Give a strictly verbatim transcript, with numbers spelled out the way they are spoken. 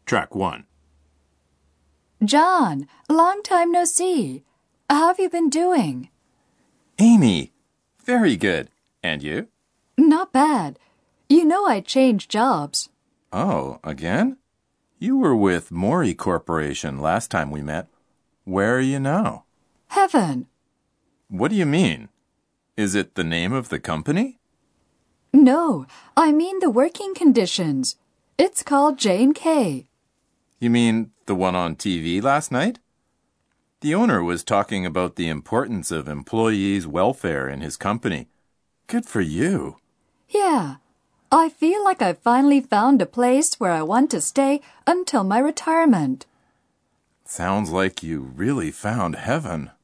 Track one. John, long time no see. How have you been doing? Amy, very good. And you? Not bad. You know I changed jobs. Oh, again? You were with Mori Corporation last time we met. Where are you now? Heaven. What do you mean? Is it the name of the company? No, I mean the working conditions. It's called J and K. You mean the one on T V last night? The owner was talking about the importance of employees' welfare in his company. Good for you. Yeah, I feel like I finally found a place where I want to stay until my retirement. Sounds like you really found heaven.